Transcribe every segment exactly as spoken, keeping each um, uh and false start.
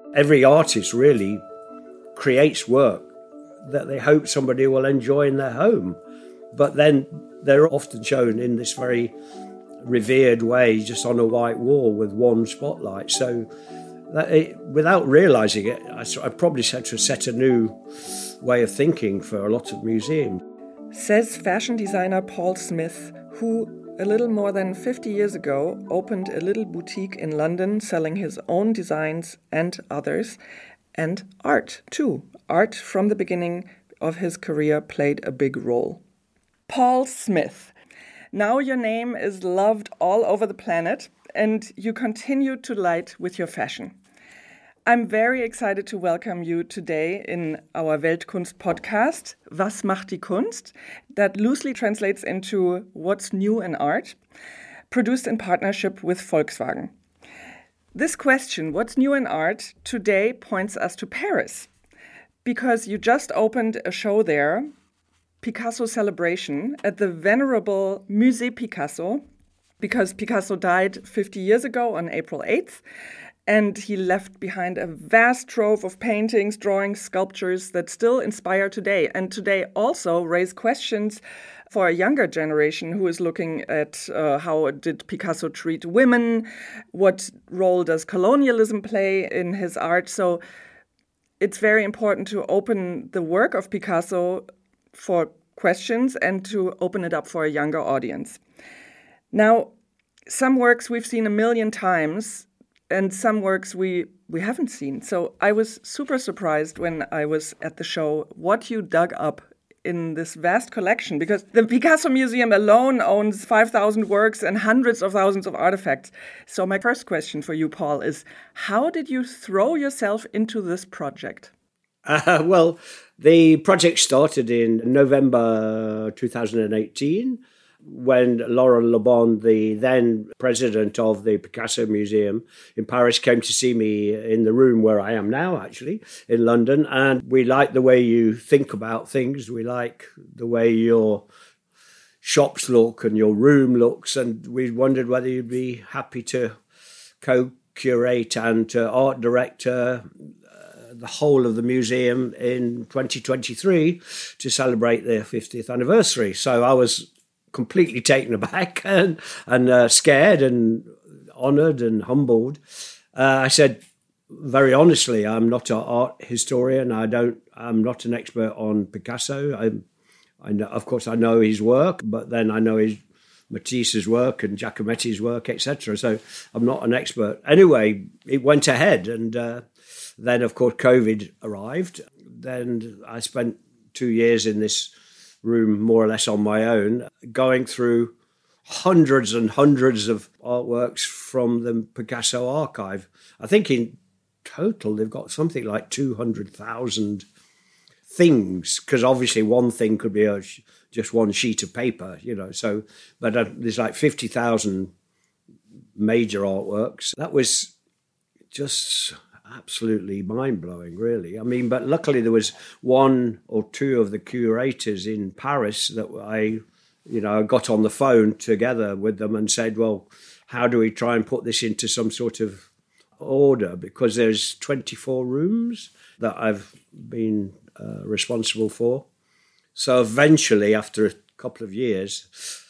Every artist really creates work that they hope somebody will enjoy in their home. But then they're often shown in this very revered way, just on a white wall with one spotlight. So that it, without realising it, I, I probably had to set a new way of thinking for a lot of museums. Says fashion designer Paul Smith, who a little more than fifty years ago opened a little boutique in London selling his own designs and others, and art too. Art from the beginning of his career played a big role. Paul Smith. Now your name is loved all over the planet and you continue to light with your fashion. I'm very excited to welcome you today in our Weltkunst podcast, Was macht die Kunst? That loosely translates into What's New in Art, produced in partnership with Volkswagen. This question, what's new in art, today points us to Paris, because you just opened a show there, Picasso Celebration, at the venerable Musée Picasso, because Picasso died fifty years ago on April eighth, and he left behind a vast trove of paintings, drawings, sculptures that still inspire today, and today also raise questions for a younger generation who is looking at uh, how did Picasso treat women, what role does colonialism play in his art. So it's very important to open the work of Picasso for questions and to open it up for a younger audience. Now, some works we've seen a million times and some works we, we haven't seen. So I was super surprised when I was at the show what you dug up in this vast collection, because the Picasso Museum alone owns five thousand works and hundreds of thousands of artifacts. So my first question for you, Paul, is how did you throw yourself into this project? Uh, well, the project started in November two thousand eighteen, when Laurent Lebon, the then president of the Picasso Museum in Paris, came to see me in the room where I am now, actually, in London. And we like the way you think about things. We like the way your shops look and your room looks. And we wondered whether you'd be happy to co-curate and to art director the whole of the museum in twenty twenty-three to celebrate their fiftieth anniversary. So I was completely taken aback and, and uh, scared and honoured and humbled. Uh, I said, very honestly, I'm not an art historian. I don't. I'm not an expert on Picasso. I, I know, of course, I know his work, but then I know his Matisse's work and Giacometti's work, et cetera. So I'm not an expert. Anyway, it went ahead, and uh, then, of course, COVID arrived. Then I spent two years in this room more or less on my own, going through hundreds and hundreds of artworks from the Picasso archive. I think in total they've got something like two hundred thousand things, because obviously one thing could be a, just one sheet of paper, you know. So, but uh, there's like fifty thousand major artworks. That was just absolutely mind-blowing, really. I mean, but luckily there was one or two of the curators in Paris that I, you know, got on the phone together with them and said, well, how do we try and put this into some sort of order? Because there's twenty-four rooms that I've been uh, responsible for. So eventually, after a couple of years,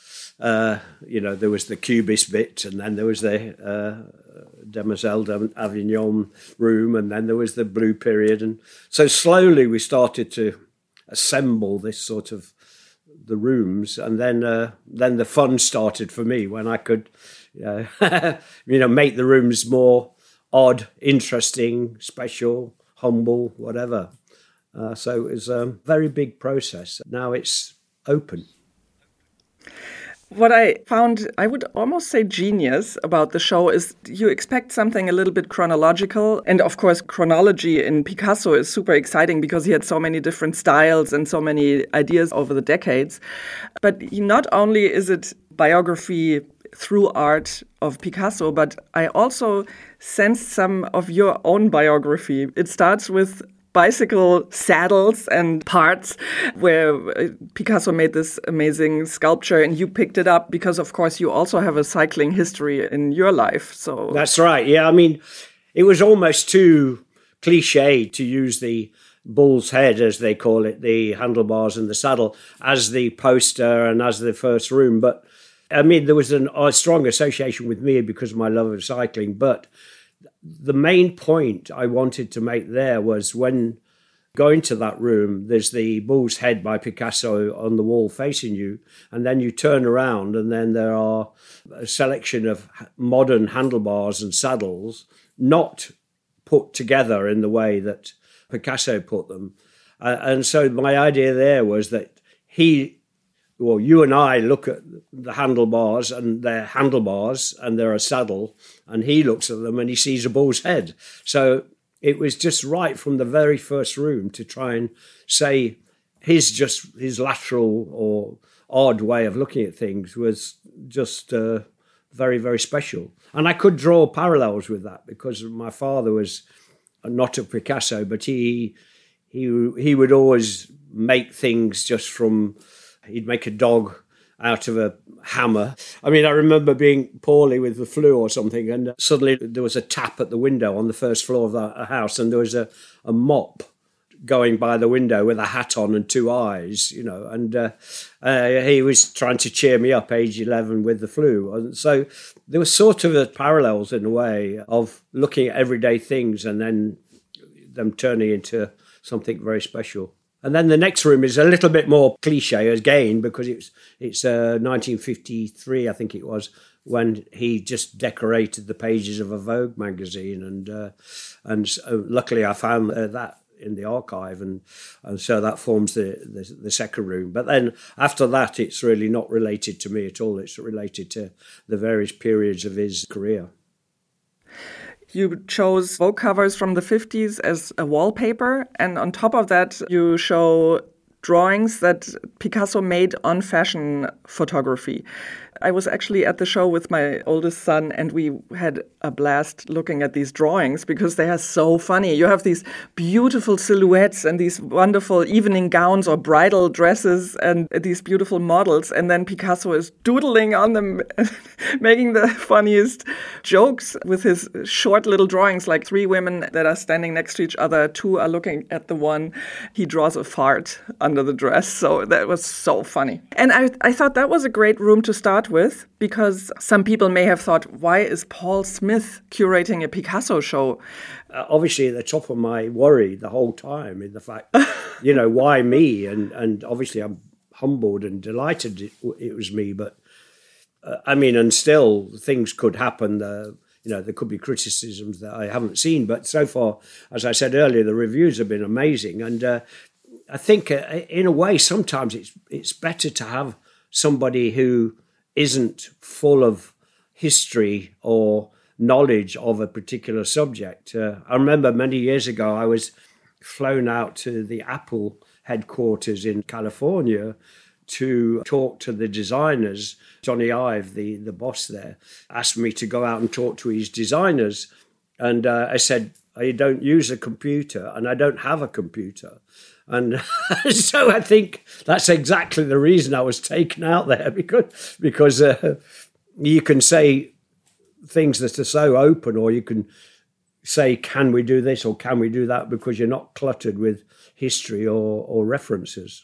uh, you know, there was the Cubist bit, and then there was the uh, Demoiselle d'Avignon room, and then there was the Blue Period. And so slowly we started to assemble this sort of the rooms, and then uh, then the fun started for me when I could, uh, you know, make the rooms more odd, interesting, special, humble, whatever. Uh, so it was a very big process. Now it's open. What I found, I would almost say genius about the show is you expect something a little bit chronological. And of course, chronology in Picasso is super exciting because he had so many different styles and so many ideas over the decades. But not only is it biography through art of Picasso, but I also sensed some of your own biography. It starts with bicycle saddles and parts, where Picasso made this amazing sculpture, and you picked it up because, of course, you also have a cycling history in your life. So that's right. Yeah, I mean, it was almost too cliche to use the bull's head, as they call it, the handlebars and the saddle, as the poster and as the first room. But I mean, there was an, a strong association with me because of my love of cycling. But the main point I wanted to make there was when going to that room, there's the bull's head by Picasso on the wall facing you, and then you turn around and then there are a selection of modern handlebars and saddles, not put together in the way that Picasso put them. Uh, and so my idea there was that he, well, you and I look at the handlebars and they're handlebars and they're a saddle, and he looks at them and he sees a bull's head. So it was just right from the very first room to try and say his just his lateral or odd way of looking at things was just uh, very, very special. And I could draw parallels with that because my father was not a Picasso, but he he he would always make things just from, he'd make a dog out of a hammer. I mean, I remember being poorly with the flu or something, and suddenly there was a tap at the window on the first floor of the house, and there was a, a mop going by the window with a hat on and two eyes, you know, and uh, uh, he was trying to cheer me up, age eleven, with the flu. And so there was sort of a parallels in a way of looking at everyday things and then them turning into something very special. And then the next room is a little bit more cliche again, because it's it's uh, nineteen fifty-three, I think it was, when he just decorated the pages of a Vogue magazine, and uh, and so luckily I found uh, that in the archive, and and so that forms the, the the second room. But then after that, it's really not related to me at all. It's related to the various periods of his career. You chose Vogue covers from the fifties as a wallpaper, and on top of that, you show drawings that Picasso made on fashion photography. I was actually at the show with my oldest son, and we had a blast looking at these drawings because they are so funny. You have these beautiful silhouettes and these wonderful evening gowns or bridal dresses and these beautiful models, and then Picasso is doodling on them, making the funniest jokes with his short little drawings, like three women that are standing next to each other, two are looking at the one. He draws a fart under the dress, so that was so funny. And I, I thought that was a great room to start with, because some people may have thought, why is Paul Smith curating a Picasso show? Uh, obviously, at the top of my worry the whole time in the fact, you know, why me? And and obviously, I'm humbled and delighted it, it was me. But uh, I mean, and still, things could happen. Uh, you know, there could be criticisms that I haven't seen. But so far, as I said earlier, the reviews have been amazing. And uh, I think, uh, in a way, sometimes it's it's better to have somebody who isn't full of history or knowledge of a particular subject. Uh, I remember many years ago, I was flown out to the Apple headquarters in California to talk to the designers. Johnny Ive, the, the boss there, asked me to go out and talk to his designers. And uh, I said, I don't use a computer and I don't have a computer. And so I think that's exactly the reason I was taken out there, because because uh, you can say things that are so open, or you can say, can we do this or can we do that, because you're not cluttered with history or, or references.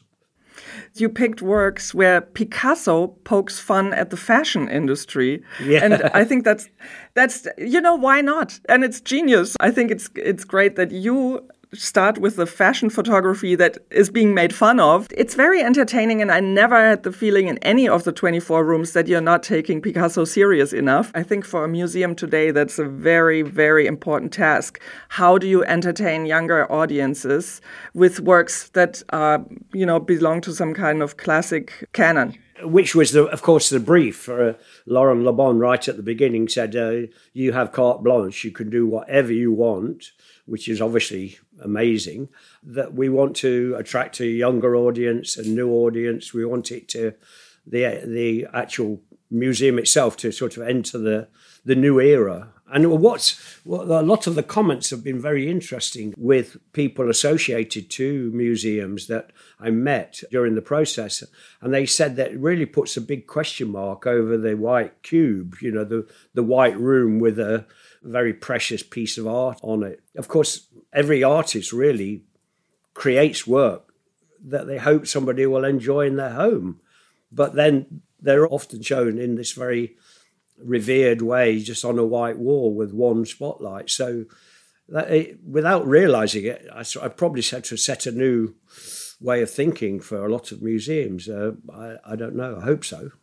You picked works where Picasso pokes fun at the fashion industry. Yeah. And I think that's, that's you know, why not? And it's genius. I think it's it's great that you start with the fashion photography that is being made fun of. It's very entertaining, and I never had the feeling in any of the twenty-four rooms that you're not taking Picasso serious enough. I think for a museum today, that's a very, very important task. How do you entertain younger audiences with works that are, you know, belong to some kind of classic canon? Which was, the, of course, the brief for uh, Laurent Le Bon right at the beginning said, uh, you have carte blanche, you can do whatever you want, which is obviously amazing, that we want to attract a younger audience, a new audience. We want it to, the the actual museum itself to sort of enter the, the new era. And what's what, a lot of the comments have been very interesting with people associated to museums that I met during the process. And they said that it really puts a big question mark over the white cube, you know, the, the white room with a very precious piece of art on it. Of course, every artist really creates work that they hope somebody will enjoy in their home. But then they're often shown in this very revered way, just on a white wall with one spotlight. So that it, without realizing it, I, I probably had to set a new way of thinking for a lot of museums. Uh, I, I don't know. I hope so.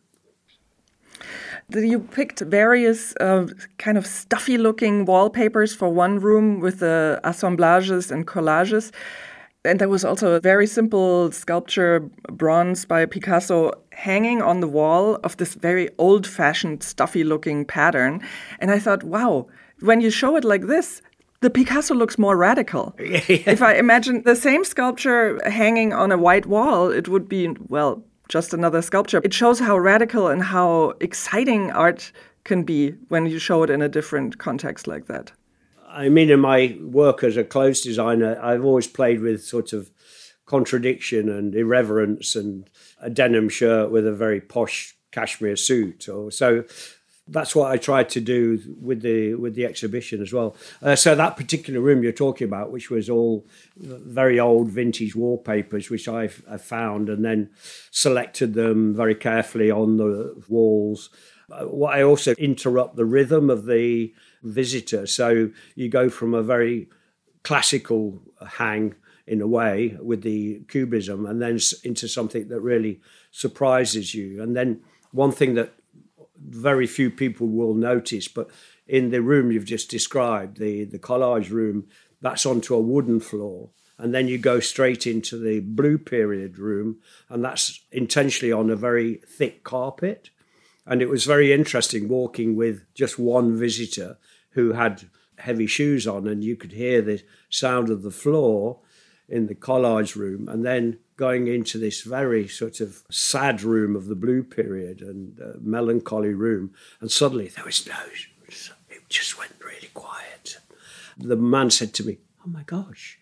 You picked various uh, kind of stuffy-looking wallpapers for one room with the assemblages and collages. And there was also a very simple sculpture, bronze by Picasso, hanging on the wall of this very old-fashioned, stuffy-looking pattern. And I thought, wow, when you show it like this, the Picasso looks more radical. Yeah. If I imagine the same sculpture hanging on a white wall, it would be, well, just another sculpture. It shows how radical and how exciting art can be when you show it in a different context like that. I mean, in my work as a clothes designer, I've always played with sort of contradiction and irreverence, and a denim shirt with a very posh cashmere suit. Or so that's what I tried to do with the with the exhibition as well. Uh, so that particular room you're talking about, which was all very old vintage wallpapers, which I found and then selected them very carefully on the walls. What I also interrupt the rhythm of the visitor. So you go from a very classical hang in a way with the cubism and then into something that really surprises you. And then one thing that very few people will notice, but in the room you've just described, the, the collage room, that's onto a wooden floor. And then you go straight into the Blue Period room, and that's intentionally on a very thick carpet. And it was very interesting walking with just one visitor who had heavy shoes on, and you could hear the sound of the floor in the collage room, and then going into this very sort of sad room of the Blue Period and uh, melancholy room. And suddenly there was no, it just went really quiet. The man said to me, "Oh my gosh,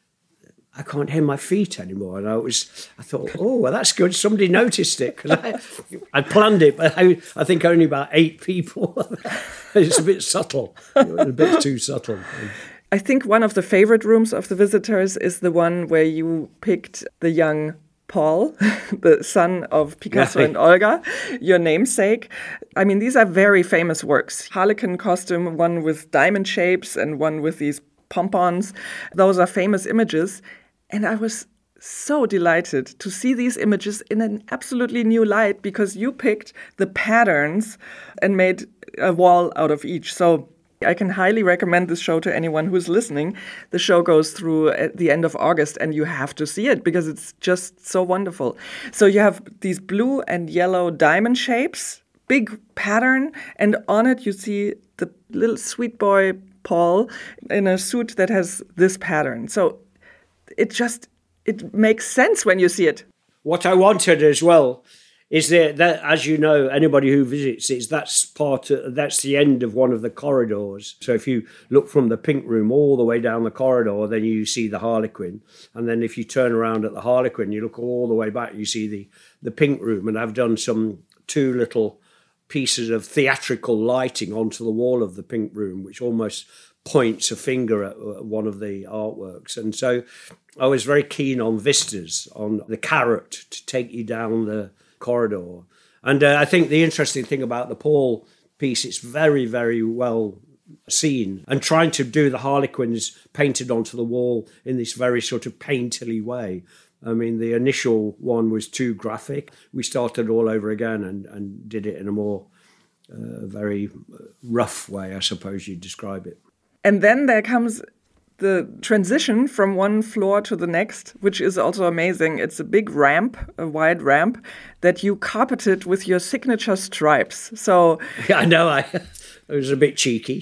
I can't hear my feet anymore." And I was, I thought, oh, well, that's good. Somebody noticed it, because I, I planned it, but I, I think only about eight people. It's a bit subtle, a bit too subtle. I think one of the favorite rooms of the visitors is the one where you picked the young Paul, the son of Picasso and Olga, your namesake. I mean, these are very famous works. Harlequin costume, one with diamond shapes and one with these pompons. Those are famous images. And I was so delighted to see these images in an absolutely new light, because you picked the patterns and made a wall out of each. So I can highly recommend this show to anyone who's listening. The show goes through at the end of August, and you have to see it because it's just so wonderful. So you have these blue and yellow diamond shapes, big pattern, and on it you see the little sweet boy Paul in a suit that has this pattern. So it just, it makes sense when you see it. What I wanted as well is that, that as you know, anybody who visits it, that's part of, that's the end of one of the corridors. So if you look from the Pink Room all the way down the corridor, then you see the Harlequin. And then if you turn around at the Harlequin, you look all the way back, you see the, the Pink Room. And I've done some two little pieces of theatrical lighting onto the wall of the Pink Room, which almost points a finger at one of the artworks. And so I was very keen on vistas, on the carrot to take you down the corridor. And uh, I think the interesting thing about the Paul piece, it's very, very well seen. And trying to do the Harlequins painted onto the wall in this very sort of painterly way. I mean, the initial one was too graphic. We started all over again and, and did it in a more uh, very rough way, I suppose you'd describe it. And then there comes the transition from one floor to the next, which is also amazing. It's a big ramp, a wide ramp, that you carpeted with your signature stripes. So yeah, I know, I it was a bit cheeky.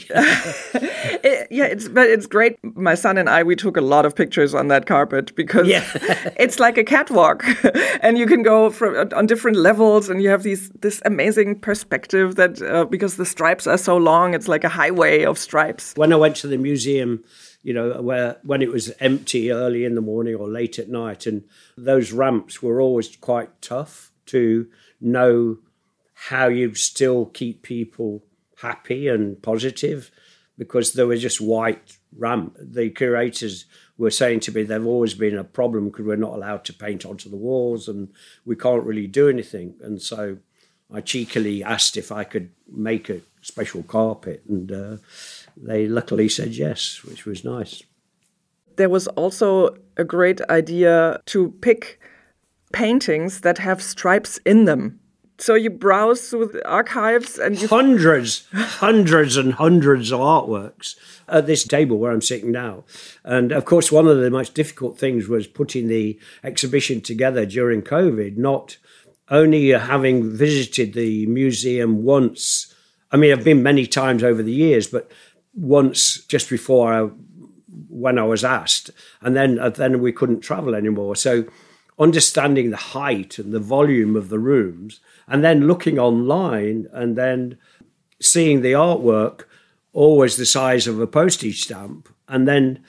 it, yeah, it's but it's great. My son and I, we took a lot of pictures on that carpet because yeah. It's like a catwalk, and you can go from on different levels, and you have these this amazing perspective that uh, because the stripes are so long, it's like a highway of stripes. When I went to the museum, you know, where when it was empty early in the morning or late at night, and those ramps were always quite tough to know how you still keep people happy and positive, because they were just white ramp. The curators were saying to me they've always been a problem because we're not allowed to paint onto the walls and we can't really do anything. And so I cheekily asked if I could make a special carpet, and uh, they luckily said yes, which was nice. There was also a great idea to pick paintings that have stripes in them. So you browse through the archives and you... Hundreds, hundreds and hundreds of artworks at this table where I'm sitting now. And of course, one of the most difficult things was putting the exhibition together during COVID, not only having visited the museum once. I mean, I've been many times over the years, but once just before I, when I was asked, and then, uh, then we couldn't travel anymore. So understanding the height and the volume of the rooms, and then looking online and then seeing the artwork always the size of a postage stamp, and then,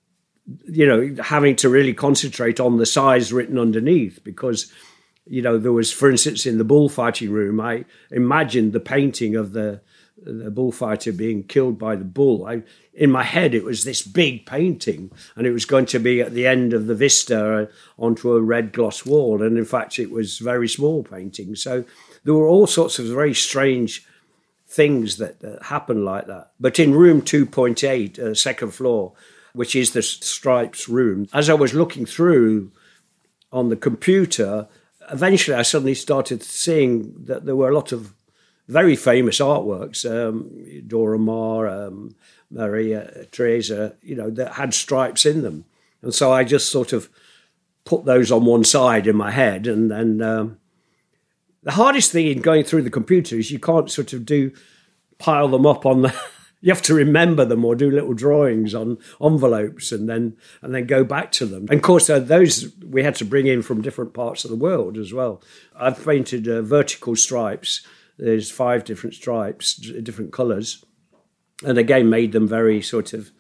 you know, having to really concentrate on the size written underneath, because, you know, there was, for instance, in the bullfighting room, I imagined the painting of the, the bullfighter being killed by the bull. I, in my head, it was this big painting, and it was going to be at the end of the vista onto a red gloss wall. And in fact, it was very small painting. So there were all sorts of very strange things that uh, happened like that. But in room two point eight, uh, second floor, which is the Stripes room, as I was looking through on the computer, eventually I suddenly started seeing that there were a lot of very famous artworks, um, Dora Maar, um, Maria Teresa, you know, that had stripes in them. And so I just sort of put those on one side in my head. And then um, the hardest thing in going through the computer is you can't sort of do, pile them up on the, you have to remember them or do little drawings on envelopes and then and then go back to them. And of course, uh, those we had to bring in from different parts of the world as well. I've painted uh, vertical stripes. There's five different stripes, different colours. And again, made them very sort of,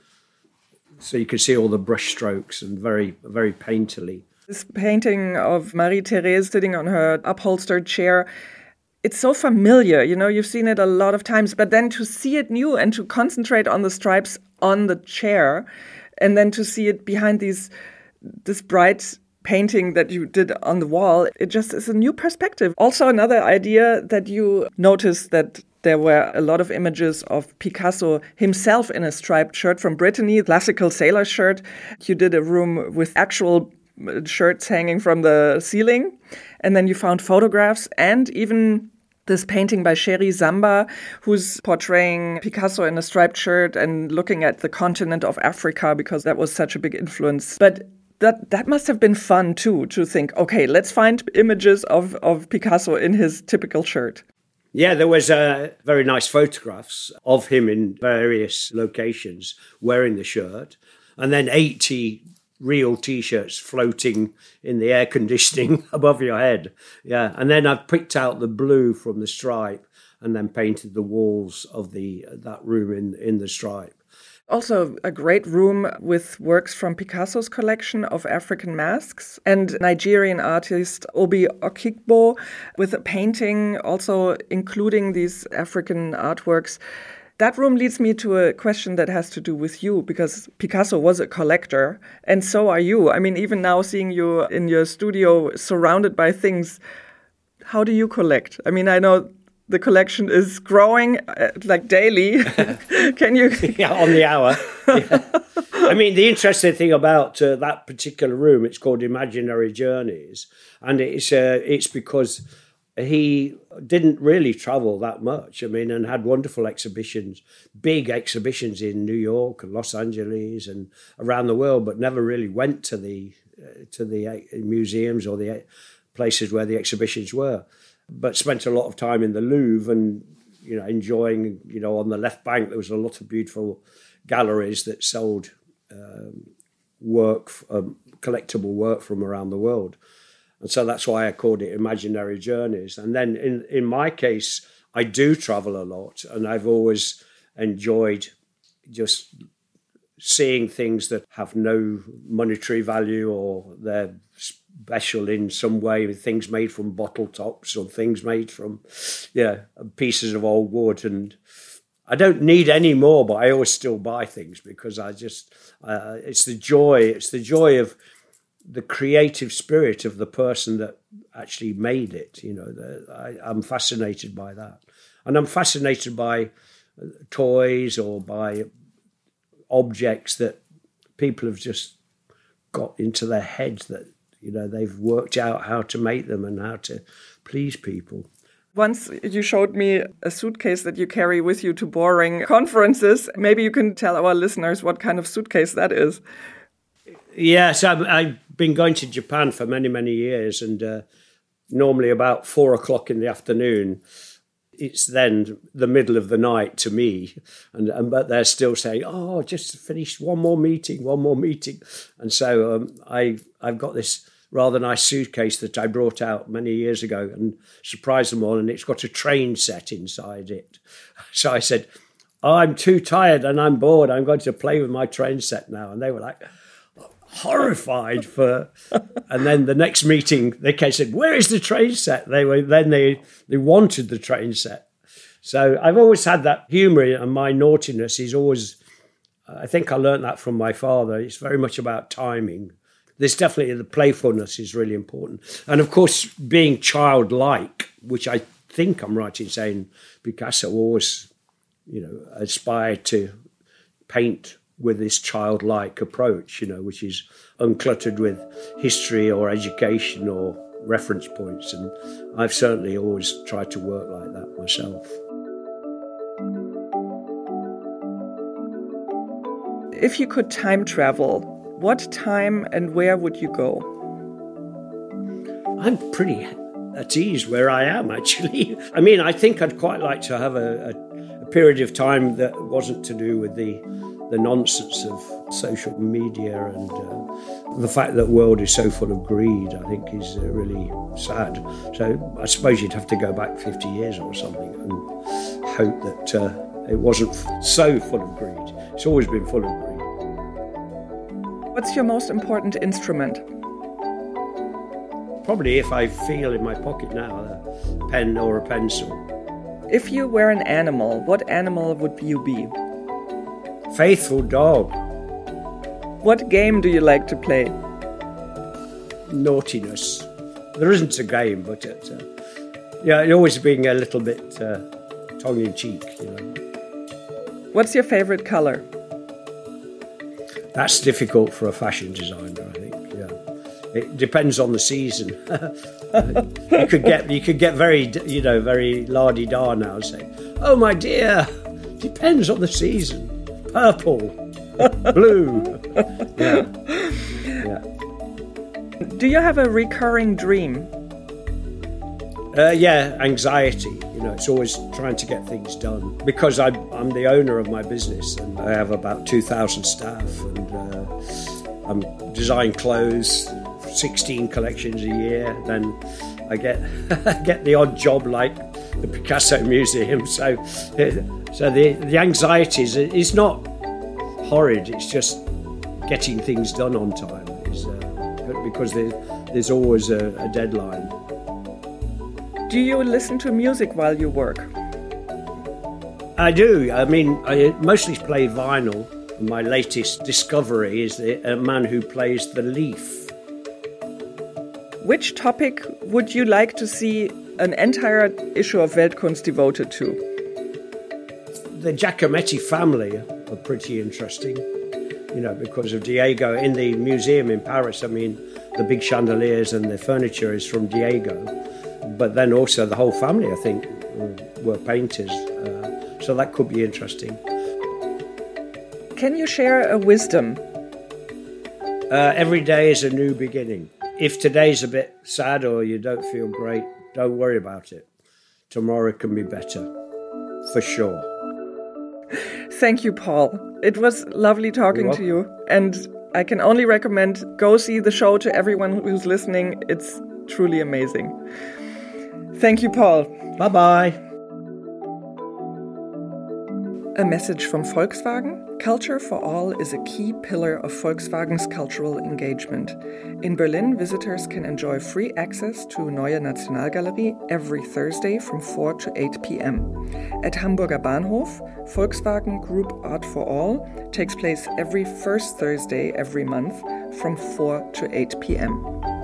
so you could see all the brush strokes and very, very painterly. This painting of Marie-Thérèse sitting on her upholstered chair, it's so familiar, you know, you've seen it a lot of times, but then to see it new and to concentrate on the stripes on the chair, and then to see it behind these this bright painting that you did on the wall, it just is a new perspective. Also, another idea that you noticed that there were a lot of images of Picasso himself in a striped shirt from Brittany, classical sailor shirt. You did a room with actual shirts hanging from the ceiling. And then you found photographs and even this painting by Sherry Zamba, who's portraying Picasso in a striped shirt and looking at the continent of Africa because that was such a big influence. But that that must have been fun, too, to think, okay, let's find images of, of Picasso in his typical shirt. Yeah, there was uh, very nice photographs of him in various locations wearing the shirt, and then eighty real T-shirts floating in the air conditioning above your head. Yeah, and then I picked out the blue from the stripe and then painted the walls of the that room in, in the stripe. Also a great room with works from Picasso's collection of African masks and Nigerian artist Obi Okigbo with a painting also including these African artworks. That room leads me to a question that has to do with you, because Picasso was a collector and so are you. I mean, even now seeing you in your studio surrounded by things, how do you collect? I mean, I know the collection is growing uh, like daily. Can you? Yeah, on the hour. Yeah. I mean, the interesting thing about uh, that particular room, it's called Imaginary Journeys, and it's uh, it's because he didn't really travel that much. I mean, and had wonderful exhibitions, big exhibitions in New York and Los Angeles and around the world, but never really went to the uh, to the uh, museums or the uh, places where the exhibitions were. But spent a lot of time in the Louvre and, you know, enjoying, you know, on the left bank, there was a lot of beautiful galleries that sold um, work, um, collectible work from around the world. And so that's why I called it Imaginary Journeys. And then in, in my case, I do travel a lot, and I've always enjoyed just seeing things that have no monetary value or they're special in some way, things made from bottle tops or things made from, yeah, pieces of old wood. And I don't need any more, but I always still buy things because I just, uh, it's the joy, it's the joy of the creative spirit of the person that actually made it. You know, the, I, I'm fascinated by that. And I'm fascinated by toys or by objects that people have just got into their heads that, you know, they've worked out how to make them and how to please people. Once you showed me a suitcase that you carry with you to boring conferences. Maybe you can tell our listeners what kind of suitcase that is. Yes, I've, I've been going to Japan for many, many years, and uh, normally about four o'clock in the afternoon, it's then the middle of the night to me, and, and but they're still saying, "Oh, just finished one more meeting, one more meeting," and so um, I I've got this rather nice suitcase that I brought out many years ago and surprised them all, and it's got a train set inside it. So I said, "Oh, I'm too tired and I'm bored. I'm going to play with my train set now," and they were like horrified for. And then the next meeting they came and said, "Where is the train set?" They were then they they wanted the train set. So I've always had that humor, and my naughtiness is always, I think I learned that from my father. It's very much about timing. There's definitely the playfulness is really important, and of course being childlike, which I think I'm right in saying Picasso always, you know, aspired to paint with this childlike approach, you know, which is uncluttered with history or education or reference points. And I've certainly always tried to work like that myself. If you could time travel, what time and where would you go? I'm pretty at ease where I am, actually. I mean, I think I'd quite like to have a, a, a period of time that wasn't to do with the the nonsense of social media and uh, the fact that the world is so full of greed, I think, is uh, really sad. So I suppose you'd have to go back fifty years or something and hope that uh, it wasn't f- so full of greed. It's always been full of greed. What's your most important instrument? Probably, if I feel in my pocket now, a pen or a pencil. If you were an animal, what animal would you be? Faithful dog. What game do you like to play? Naughtiness. There isn't a game, but it, uh, yeah, it always being a little bit uh, tongue-in-cheek, you know. What's your favorite color? That's difficult for a fashion designer, I think. Yeah, it depends on the season. you could get you could get very you know very la-di-da now and say, "Oh my dear, depends on the season. Purple, blue." Yeah. Yeah. Do you have a recurring dream? Uh, yeah, anxiety. You know, it's always trying to get things done because I, I'm the owner of my business and I have about two thousand staff, and uh, I'm design clothes, sixteen collections a year. Then I get get the odd job like the Picasso Museum. So, so the the anxiety is is not horrid. It's just getting things done on time. Is uh, because there, there's always a, a deadline. Do you listen to music while you work? I do. I mean, I mostly play vinyl. My latest discovery is a man who plays the leaf. Which topic would you like to see an entire issue of Weltkunst devoted to? The Giacometti family are pretty interesting, you know, because of Diego. In the museum in Paris, I mean, the big chandeliers and the furniture is from Diego. But then also the whole family, I think, were painters. Uh, so that could be interesting. Can you share a wisdom? Uh, every day is a new beginning. If today's a bit sad or you don't feel great, don't worry about it. Tomorrow can be better, for sure. Thank you, Paul. It was lovely talking to you. And I can only recommend go see the show to everyone who's listening. It's truly amazing. Thank you, Paul. Bye-bye. A message from Volkswagen. Culture for All is a key pillar of Volkswagen's cultural engagement. In Berlin, visitors can enjoy free access to Neue Nationalgalerie every Thursday from four to eight p.m. At Hamburger Bahnhof, Volkswagen Group Art for All takes place every first Thursday every month from four to eight p.m.